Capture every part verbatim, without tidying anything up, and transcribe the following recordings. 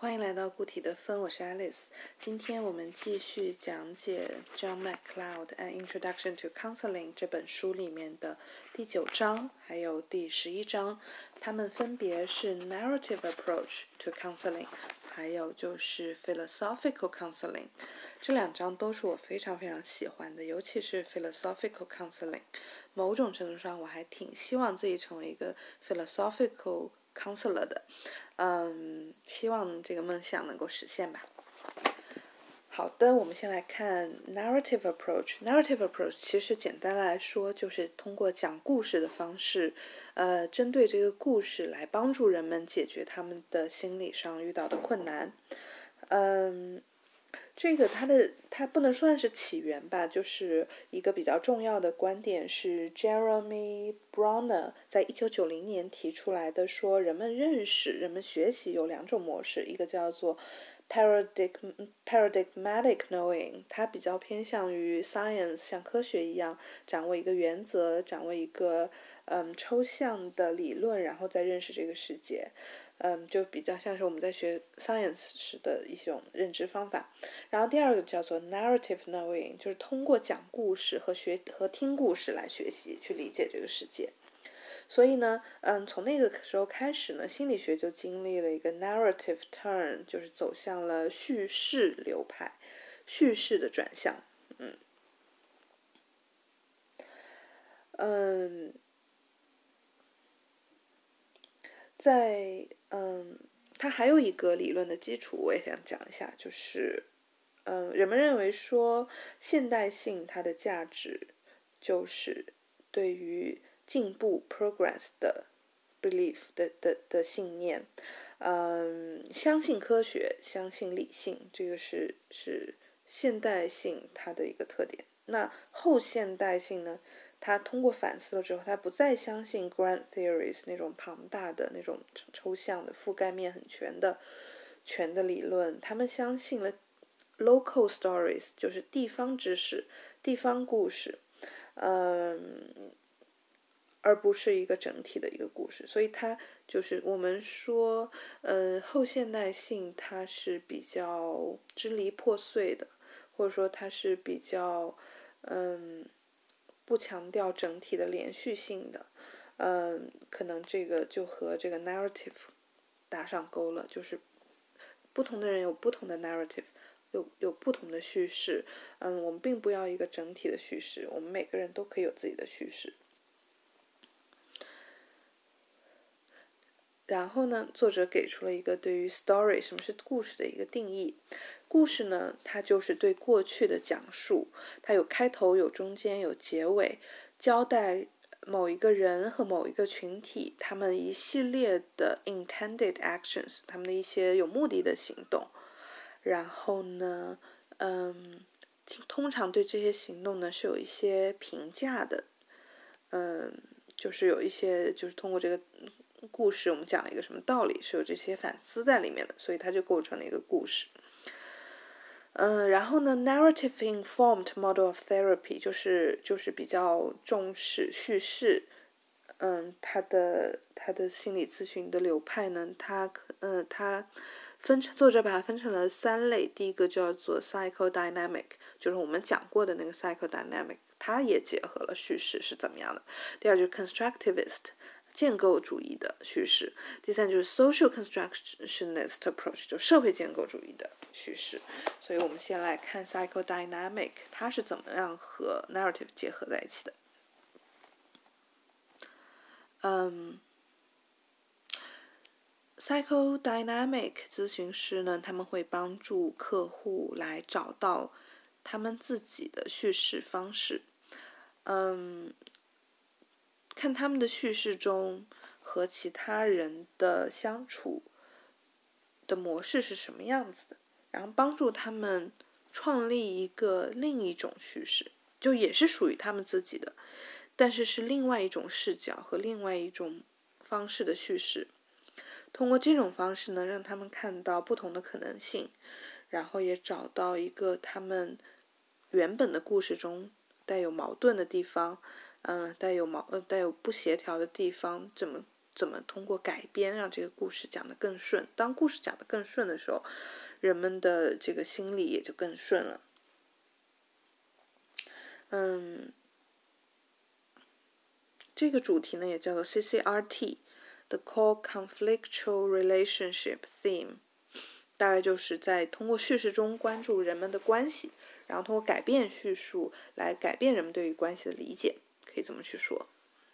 欢迎来到固体的分，我是 Alice。今天我们继续讲解 John MacLeod and Introduction to Counseling 这本书里面的第九章还有第十一章，它们分别是 Narrative Approach to Counseling 还有就是 Philosophical Counseling。这两章都是我非常非常喜欢的，尤其是 Philosophical Counseling。某种程度上我还挺希望自己成为一个 Philosophical Counselor 的。嗯，希望这个梦想能够实现吧。好的，我们先来看 narrative approach。narrative approach 其实简单来说就是通过讲故事的方式，呃，针对这个故事来帮助人们解决他们的心理上遇到的困难。嗯，这个它的它不能算是起源吧，就是一个比较重要的观点是 Jeremy Bronner 在一九九零年提出来的，说人们认识、人们学习有两种模式，一个叫做 paradigm paradigmatic knowing， 它比较偏向于 science， 像科学一样掌握一个原则，掌握一个嗯抽象的理论，然后再认识这个世界。嗯，就比较像是我们在学 science 时的一种认知方法。然后第二个叫做 narrative knowing， 就是通过讲故事和学和听故事来学习，去理解这个世界。所以呢，嗯，从那个时候开始呢，心理学就经历了一个 narrative turn， 就是走向了叙事流派，叙事的转向。嗯，嗯，在嗯，它还有一个理论的基础，我也想讲一下，就是。嗯，人们认为说现代性它的价值就是对于进步 progress 的 belief 的的的信念。嗯，相信科学，相信理性，这个是是现代性它的一个特点。那后现代性呢，他通过反思了之后，他不再相信 grand theories 那种庞大的那种抽象的覆盖面很全的全的理论，他们相信了local stories， 就是地方知识、地方故事，嗯，而不是一个整体的一个故事。所以它就是我们说，呃，后现代性它是比较支离破碎的，或者说它是比较，嗯，不强调整体的连续性的。嗯，可能这个就和这个 narrative 打上钩了，就是不同的人有不同的 narrative。有有不同的叙事，嗯，我们并不要一个整体的叙事，我们每个人都可以有自己的叙事。然后呢，作者给出了一个对于 story 什么是故事的一个定义。故事呢，它就是对过去的讲述，它有开头、有中间、有结尾，交代某一个人和某一个群体他们一系列的 intended actions， 他们的一些有目的的行动。然后呢，嗯，通常对这些行动呢是有一些评价的，嗯，就是有一些就是通过这个故事我们讲了一个什么道理，是有这些反思在里面的，所以它就构成了一个故事。嗯，然后呢 ，narrative informed model of therapy 就是就是比较重视叙事，嗯，它的它的心理咨询的流派呢，它嗯它。分成作者把它分成了三类，第一个叫做 psychodynamic， 就是我们讲过的那个 psychodynamic， 它也结合了叙事是怎么样的。第二就是 constructivist， 建构主义的叙事。第三就是 social constructionist approach， 就社会建构主义的叙事。所以我们先来看 psychodynamic， 它是怎么样和 narrative 结合在一起的。嗯。Psychodynamic 咨询师呢，他们会帮助客户来找到他们自己的叙事方式，嗯，看他们的叙事中和其他人的相处的模式是什么样子的，然后帮助他们创立一个另一种叙事，就也是属于他们自己的，但是是另外一种视角和另外一种方式的叙事。通过这种方式呢，让他们看到不同的可能性，然后也找到一个他们原本的故事中带有矛盾的地方，嗯、呃，带有矛呃带有不协调的地方，怎么怎么通过改编让这个故事讲得更顺。当故事讲得更顺的时候，人们的这个心理也就更顺了。嗯，这个主题呢也叫做 C C R T。The Core Conflictual Relationship Theme， 大概就是在通过叙事中关注人们的关系，然后通过改变叙述来改变人们对于关系的理解，可以这么去说。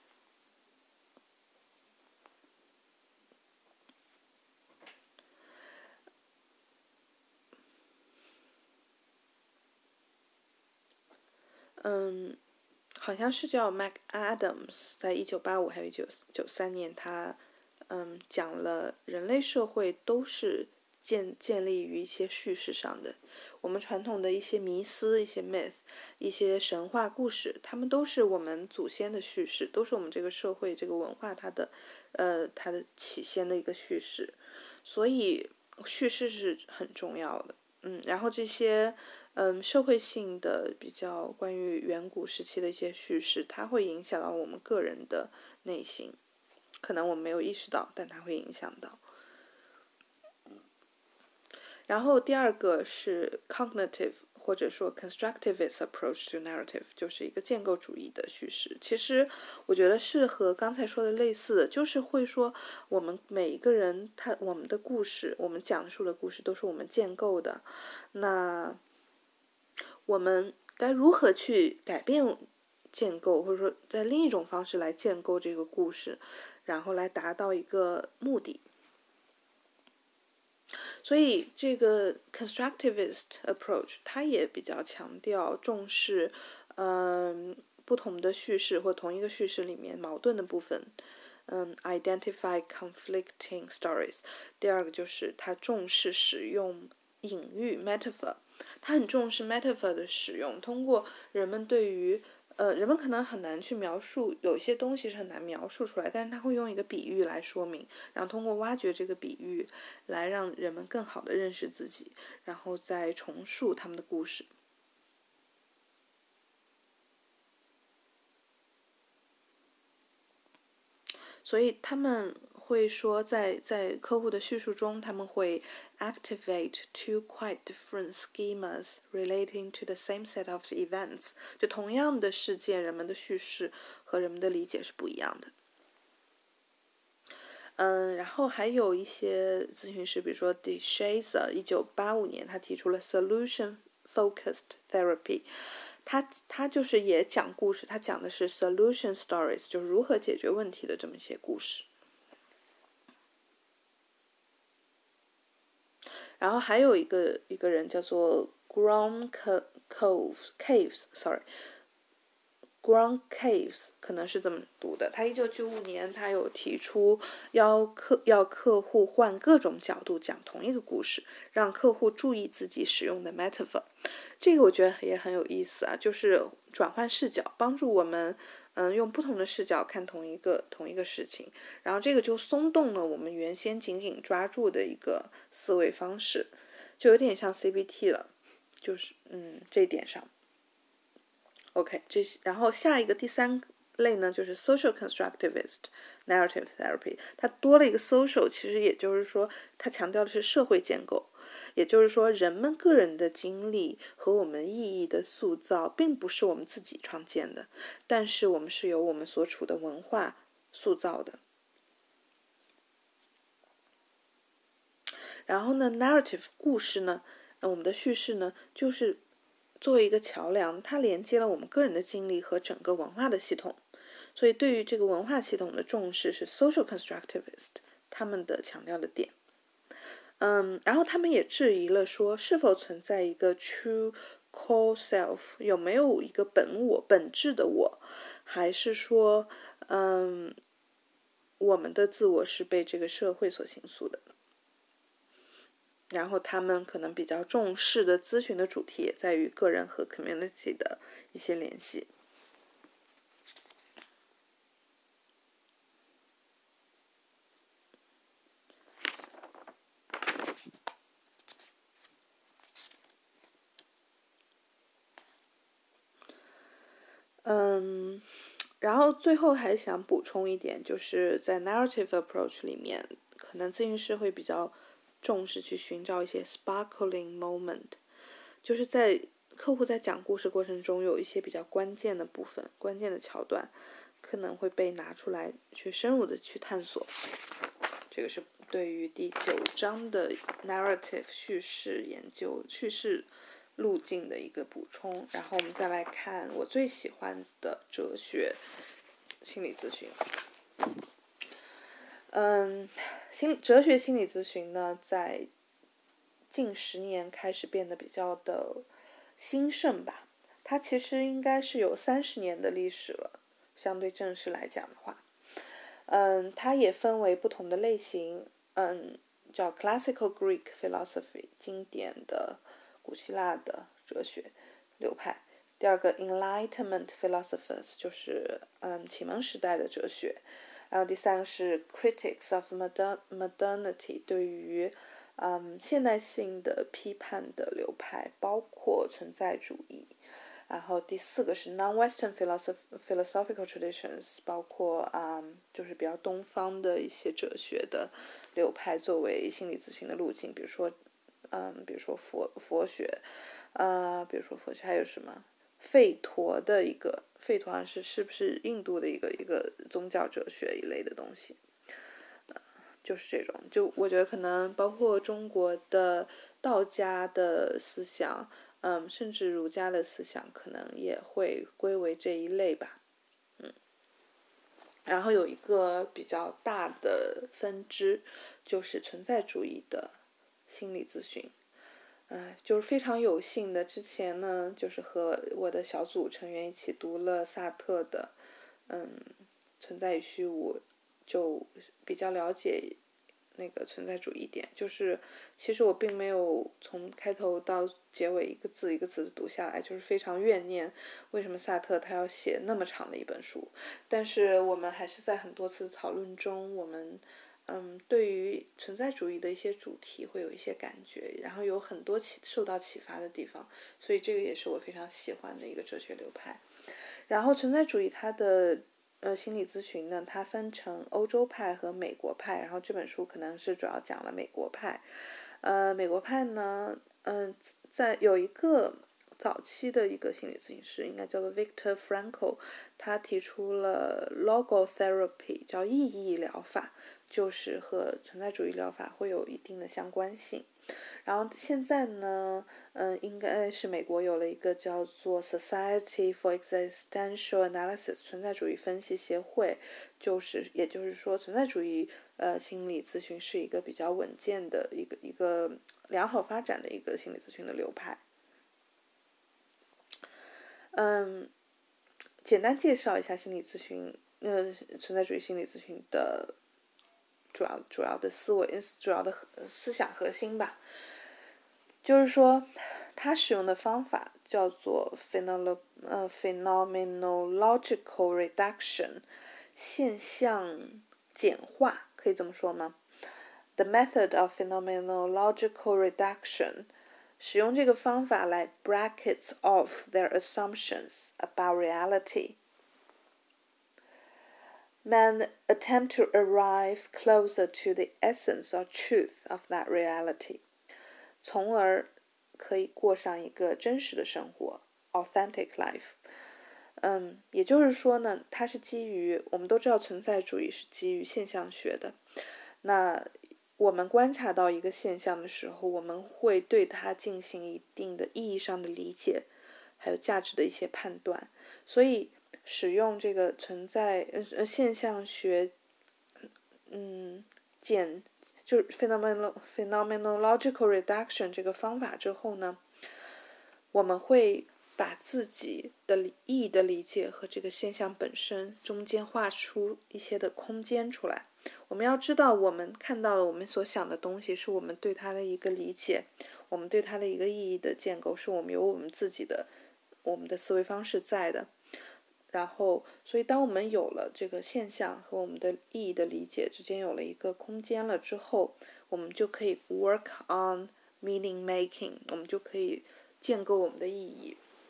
嗯，好像是叫 McAdams， 在一九八五还有一九九三年，他嗯讲了人类社会都是建建立于一些叙事上的。我们传统的一些迷思、一些 myth、一些神话故事，他们都是我们祖先的叙事，都是我们这个社会、这个文化它的呃它的起先的一个叙事。所以叙事是很重要的。嗯，然后这些嗯社会性的比较关于远古时期的一些叙事，它会影响到我们个人的内心，可能我们没有意识到，但它会影响到。然后第二个是 cognitive 或者说 constructivist approach to narrative， 就是一个建构主义的叙事。其实我觉得是和刚才说的类似的，就是会说我们每一个人他我们的故事，我们讲述的故事都是我们建构的。那我们该如何去改变建构，或者说在另一种方式来建构这个故事，然后来达到一个目的。所以这个 constructivist approach 它也比较强调重视嗯不同的叙事或同一个叙事里面矛盾的部分，嗯 identify conflicting stories。 第二个就是它重视使用隐喻 metaphor， 它很重视 metaphor 的使用，通过人们对于呃，人们可能很难去描述，有一些东西是很难描述出来，但是他会用一个比喻来说明，然后通过挖掘这个比喻来让人们更好的认识自己，然后再重述他们的故事。所以他们会说在在客户的叙述中，他们会 activate two quite different schemas relating to the same set of events， 就同样的事件，人们的叙事和人们的理解是不一样的。嗯，然后还有一些咨询师，比如说 DeShazer， 一九八五年他提出了 solution focused therapy， 他他就是也讲故事，他讲的是 solution stories， 就是如何解决问题的这么一些故事。然后还有一个一个人叫做 Grom Caves，sorry。Grom Caves 可能是这么读的，他一九九五年他有提出要客要客户换各种角度讲同一个故事，让客户注意自己使用的 metaphor。 这个我觉得也很有意思啊，就是转换视角，帮助我们嗯用不同的视角看同一个同一个事情，然后这个就松动了我们原先紧紧抓住的一个思维方式，就有点像 C B T 了，就是嗯这一点上。OK， 这然后下一个第三类呢，就是 social constructivist narrative therapy， 它多了一个 social， 其实也就是说，它强调的是社会建构，也就是说，人们个人的经历和我们意义的塑造，并不是我们自己创建的，但是我们是由我们所处的文化塑造的。然后呢 ，narrative 故事呢，我们的叙事呢，就是作为一个桥梁，它连接了我们个人的经历和整个文化的系统。所以对于这个文化系统的重视是 social constructivist 他们的强调的点。嗯，然后他们也质疑了说，是否存在一个 true core self， 有没有一个本我、本质的我，还是说，嗯，我们的自我是被这个社会所形塑的。然后他们可能比较重视的咨询的主题也在于个人和 community 的一些联系。嗯， 然后最后还想补充一点，就是在 narrative approach 里面，可能咨询师会比较重视去寻找一些 sparkling moment， 就是在客户在讲故事过程中有一些比较关键的部分、关键的桥段，可能会被拿出来去深入的去探索。这个是对于第九章的 narrative 叙事研究、叙事路径的一个补充。然后我们再来看我最喜欢的哲学心理咨询。嗯，心哲学心理咨询呢，在近十年开始变得比较的兴盛吧。它其实应该是有三十年的历史了，相对正式来讲的话。嗯，它也分为不同的类型，嗯，叫 Classical Greek Philosophy， 经典的古希腊的哲学流派。第二个 Enlightenment Philosophers， 就是嗯启蒙时代的哲学。然后第三个是 Critics of Modern Modernity， 对于嗯现代性的批判的流派，包括存在主义。然后第四个是 non-Western philosophical traditions， 包括嗯就是比较东方的一些哲学的流派作为心理咨询的路径，比如说嗯比如说佛佛学，呃比如说佛学还有什么吠陀的一个吠陀好像是是不是印度的一个一个宗教哲学一类的东西，呃、就是这种，就我觉得可能包括中国的道家的思想。嗯，甚至儒家的思想可能也会归为这一类吧，嗯，然后有一个比较大的分支，就是存在主义的心理咨询，呃，就是非常有幸的，之前呢，就是和我的小组成员一起读了萨特的，嗯，存在与虚无，就比较了解。那个存在主义点，就是其实我并没有从开头到结尾一个字一个字的读下来，就是非常怨念为什么萨特他要写那么长的一本书。但是我们还是在很多次的讨论中，我们嗯对于存在主义的一些主题会有一些感觉，然后有很多启受到启发的地方，所以这个也是我非常喜欢的一个哲学流派。然后存在主义它的呃，心理咨询呢，它分成欧洲派和美国派，然后这本书可能是主要讲了美国派。呃，美国派呢，嗯、呃，在有一个早期的一个心理咨询师，应该叫做 Viktor Frankl， 他提出了 logotherapy， 叫意义疗法，就是和存在主义疗法会有一定的相关性。然后现在呢，嗯，应该是美国有了一个叫做 Society for Existential Analysis 存在主义分析协会，就是也就是说，存在主义呃心理咨询是一个比较稳健的一个一个良好发展的一个心理咨询的流派。嗯，简单介绍一下心理咨询，呃，存在主义心理咨询的主要主要的思维、主要的思想核心吧。就是说，他使用的方法叫做 phenomenological reduction， 现象简化，可以这么说吗？ The method of phenomenological reduction， 使用这个方法来 brackets off their assumptions about reality. Men attempt to arrive closer to the essence or truth of that reality.从而可以过上一个真实的生活 authentic life。 嗯，也就是说呢，它是基于，我们都知道存在主义是基于现象学的，那我们观察到一个现象的时候，我们会对它进行一定的意义上的理解，还有价值的一些判断，所以使用这个存在呃现象学嗯简就是 phenomenological reduction 这个方法之后呢，我们会把自己的意义的理解和这个现象本身中间画出一些的空间出来。我们要知道，我们看到了我们所想的东西，是我们对它的一个理解，我们对它的一个意义的建构，是我们有我们自己的我们的思维方式在的。然后，所以当我们有了这个现象和我们的意义的理解之间有了一个空间了之后，我们就可以 work on meaning making， 我们就可以建构我们的意义。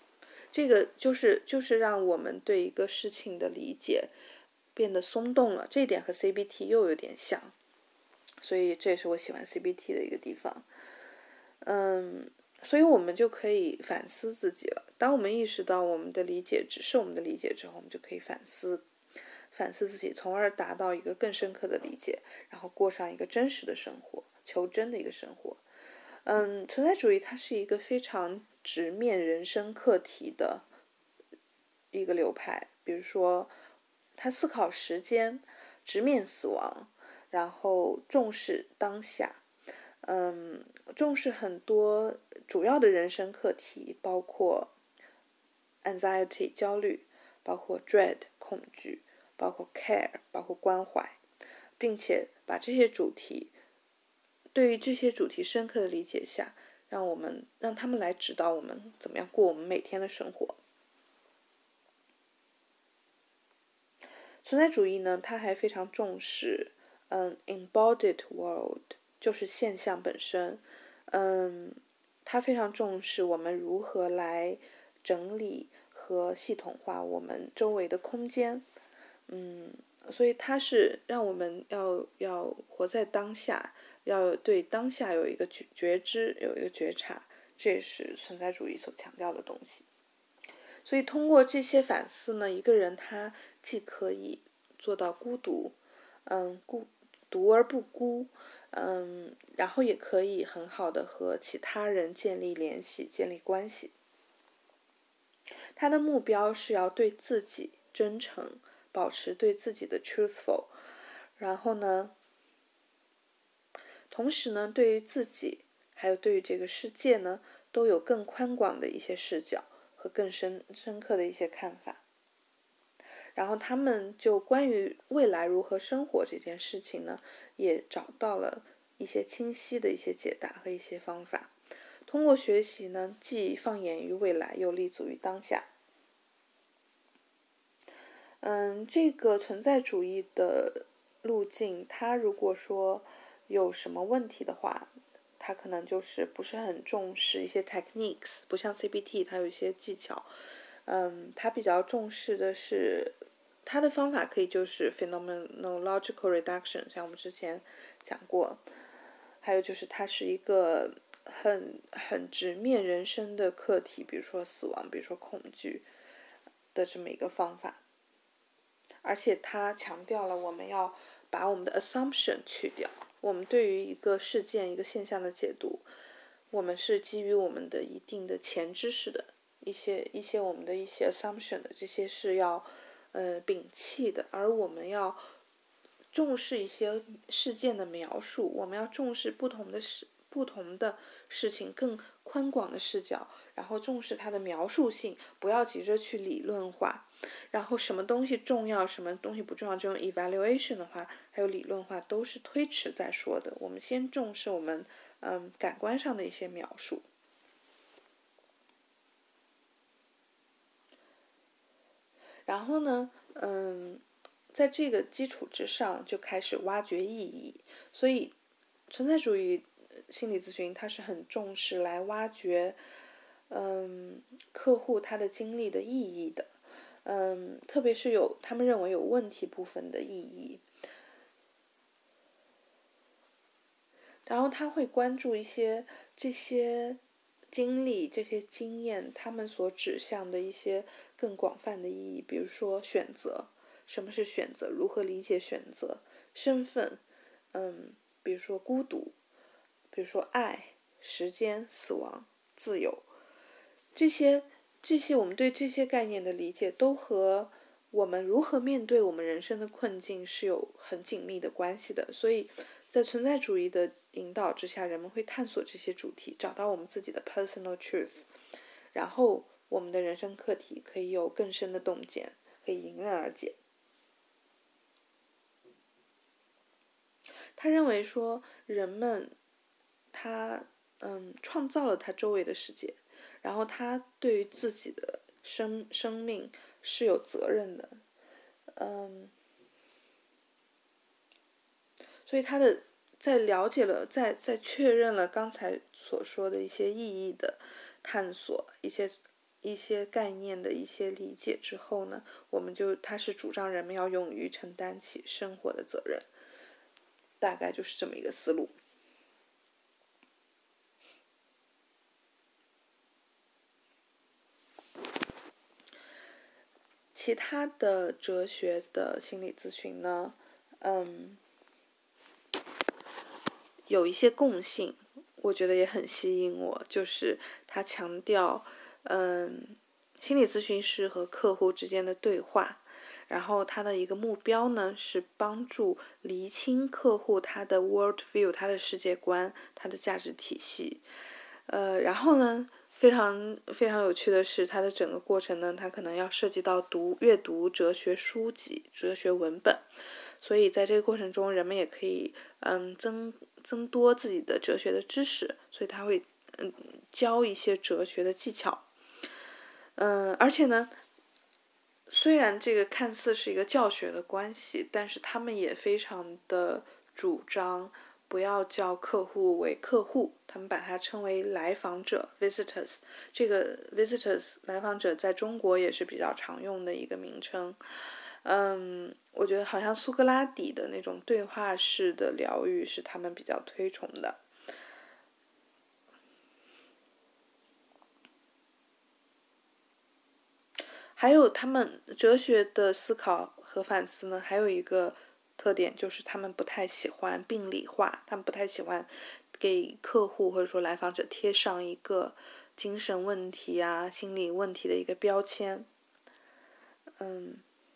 这个就是就是让我们对一个事情的理解变得松动了，这一点和 C B T 又有点像，所以这也是我喜欢 C B T 的一个地方。嗯，所以我们就可以反思自己了。当我们意识到我们的理解只是我们的理解之后，我们就可以反思反思自己，从而达到一个更深刻的理解，然后过上一个真实的生活，求真的一个生活。嗯，存在主义它是一个非常直面人生课题的一个流派，比如说他思考时间，直面死亡，然后重视当下，嗯，重视很多主要的人生课题，包括 anxiety 焦虑，包括 dread 恐惧，包括 care 包括关怀，并且把这些主题对于这些主题深刻的理解下，让我们让他们来指导我们怎么样过我们每天的生活。存在主义呢，它还非常重视嗯 embodied world， 就是现象本身。嗯，它非常重视我们如何来整理和系统化我们周围的空间。嗯，所以它是让我们要要活在当下，要对当下有一个觉知，有一个觉察，这也是存在主义所强调的东西。所以通过这些反思呢，一个人他既可以做到孤独，嗯，孤独而不孤，嗯，然后也可以很好的和其他人建立联系、建立关系。他的目标是要对自己真诚，保持对自己的 truthful， 然后呢，同时呢，对于自己还有对于这个世界呢，都有更宽广的一些视角和更深深刻的一些看法。然后他们就关于未来如何生活这件事情呢，也找到了一些清晰的一些解答和一些方法。通过学习呢，既放眼于未来，又立足于当下。嗯，这个存在主义的路径，它如果说有什么问题的话，它可能就是不是很重视一些 techniques， 不像 C B T 它有一些技巧。嗯，它比较重视的是它的方法可以就是 phenomenological reduction， 像我们之前讲过，还有就是它是一个很很直面人生的课题，比如说死亡，比如说恐惧的这么一个方法。而且它强调了我们要把我们的 assumption 去掉，我们对于一个事件、一个现象的解读，我们是基于我们的一定的前知识的一些一些我们的一些 assumption 的，这些是要呃摒弃的，而我们要重视一些事件的描述，我们要重视不同的事不同的事情更宽广的视角，然后重视它的描述性，不要急着去理论化。然后什么东西重要，什么东西不重要，这种 evaluation 的话，还有理论化都是推迟再说的。我们先重视我们嗯感官上的一些描述。然后呢，嗯，在这个基础之上就开始挖掘意义。所以存在主义心理咨询它是很重视来挖掘嗯客户他的经历的意义的。嗯，特别是有他们认为有问题部分的意义，然后他会关注一些这些经历、这些经验，他们所指向的一些更广泛的意义，比如说选择，什么是选择？如何理解选择？身份，嗯，比如说孤独，比如说爱、时间、死亡、自由，这些。这些我们对这些概念的理解都和我们如何面对我们人生的困境是有很紧密的关系的。所以在存在主义的引导之下，人们会探索这些主题，找到我们自己的 personal truth， 然后我们的人生课题可以有更深的洞见，可以迎刃而解。他认为说人们他嗯创造了他周围的世界，然后他对于自己的生生命是有责任的，嗯，所以他的在了解了，在在确认了刚才所说的一些意义的探索，一些一些概念的一些理解之后呢，我们就他是主张人们要勇于承担起生活的责任，大概就是这么一个思路。其他的哲学的心理咨询呢，嗯，有一些共性，我觉得也很吸引我，就是他强调，嗯，心理咨询师和客户之间的对话，然后他的一个目标呢是帮助厘清客户他的 world view， 他的世界观，他的价值体系，呃，然后呢，非常非常有趣的是，它的整个过程呢，它可能要涉及到读阅读哲学书籍、哲学文本，所以在这个过程中，人们也可以嗯增增多自己的哲学的知识，所以他会嗯教一些哲学的技巧，嗯，而且呢，虽然这个看似是一个教学的关系，但是他们也非常的主张不要叫客户为客户，他们把它称为来访者 visitors。 这个 visitors 来访者在中国也是比较常用的一个名称。嗯，我觉得好像苏格拉底的那种对话式的疗愈是他们比较推崇的。还有他们哲学的思考和反思呢，还有一个特点就是他们不太喜欢病理化，他们不太喜欢给客户或者说来访者贴上一个精神问题啊、心理问题的一个标签。嗯，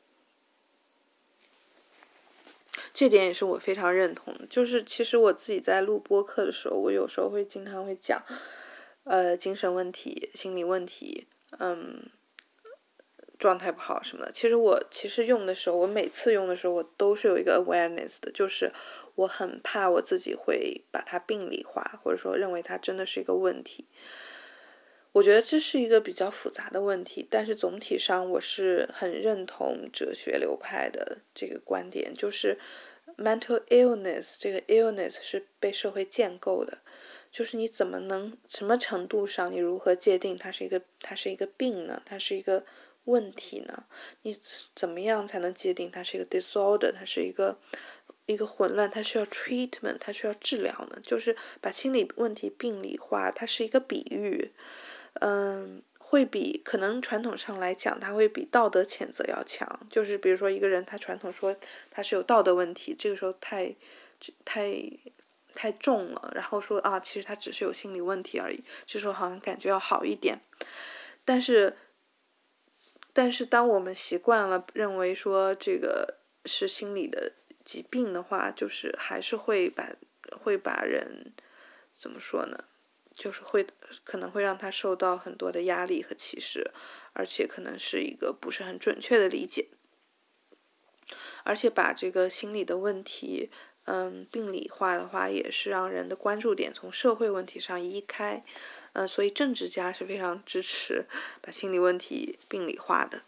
这点也是我非常认同的。就是其实我自己在录播客的时候，我有时候会经常会讲，呃，精神问题、心理问题，嗯。状态不好什么的，其实我其实用的时候，我每次用的时候，我都是有一个 awareness 的，就是我很怕我自己会把它病理化，或者说认为它真的是一个问题。我觉得这是一个比较复杂的问题，但是总体上我是很认同哲学流派的这个观点，就是 mental illness 这个 illness 是被社会建构的，就是你怎么能什么程度上，你如何界定它是一个它是一个病呢？它是一个问题呢？你怎么样才能界定它是一个 disorder， 它是一个一个混乱，它需要 treatment， 它需要治疗呢？就是把心理问题病理化，它是一个比喻，嗯，会比可能传统上来讲，它会比道德谴责要强。就是比如说一个人，他传统说他是有道德问题，这个时候太太太重了，然后说啊，其实他只是有心理问题而已，这时候好像感觉要好一点。但是但是当我们习惯了认为说这个是心理的疾病的话，就是还是会把会把人怎么说呢？就是会可能会让他受到很多的压力和歧视，而且可能是一个不是很准确的理解，而且把这个心理的问题，嗯，病理化的话，也是让人的关注点从社会问题上移开。呃，所以政治家是非常支持把心理问题病理化的。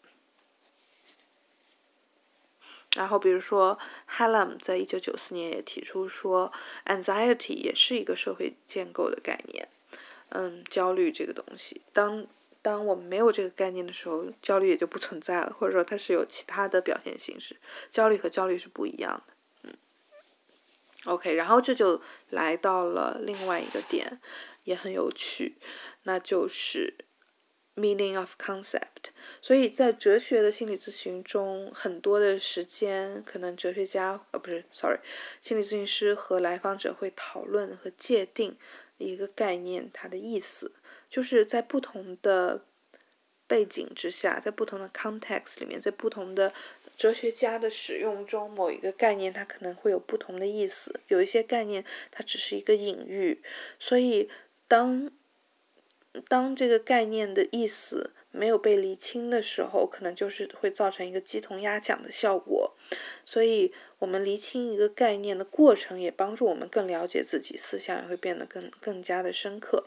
然后比如说 Hallam 在一九九四年也提出说 anxiety 也是一个社会建构的概念。嗯，焦虑这个东西，当当我们没有这个概念的时候，焦虑也就不存在了，或者说它是有其他的表现形式，焦虑和焦虑是不一样的。嗯 OK， 然后这就来到了另外一个点，也很有趣，那就是 meaning of concept。所以在哲学的心理咨询中，很多的时间可能哲学家呃不是 sorry 心理咨询师和来访者会讨论和界定一个概念它的意思，就是在不同的背景之下，在不同的 context 里面，在不同的哲学家的使用中，某一个概念它可能会有不同的意思，有一些概念它只是一个隐喻，所以当当这个概念的意思没有被理清的时候，可能就是会造成一个鸡同鸭讲的效果。所以我们理清一个概念的过程，也帮助我们更了解自己，思想也会变得更更加的深刻。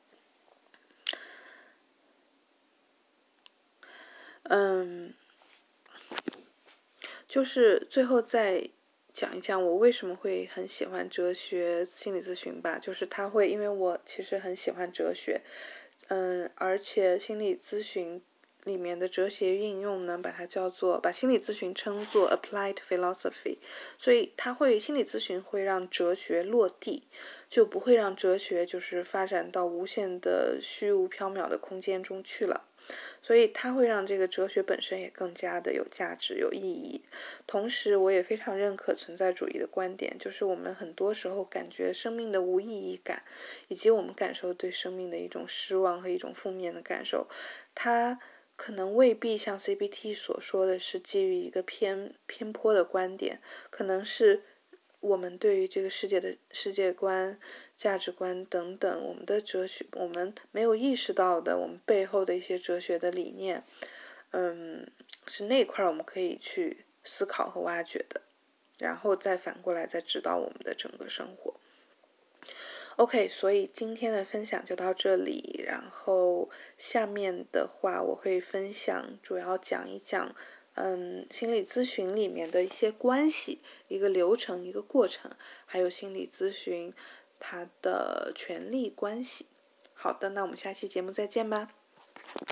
嗯，就是最后再讲一讲我为什么会很喜欢哲学心理咨询吧。就是它会，因为我其实很喜欢哲学， 嗯，而且心理咨询里面的哲学应用呢，把它叫做把心理咨询称作 applied philosophy， 所以它会心理咨询会让哲学落地，就不会让哲学就是发展到无限的虚无缥缈的空间中去了。所以它会让这个哲学本身也更加的有价值、有意义。同时，我也非常认可存在主义的观点，就是我们很多时候感觉生命的无意义感，以及我们感受对生命的一种失望和一种负面的感受，它可能未必像 C B T 所说的是基于一个偏偏颇的观点，可能是我们对于这个世界的世界观、价值观等等，我们的哲学，我们没有意识到的，我们背后的一些哲学的理念，嗯，是那块我们可以去思考和挖掘的，然后再反过来再指导我们的整个生活。OK， 所以今天的分享就到这里，然后下面的话我会分享，主要讲一讲嗯，心理咨询里面的一些关系，一个流程，一个过程，还有心理咨询它的权利关系。好的，那我们下期节目再见吧。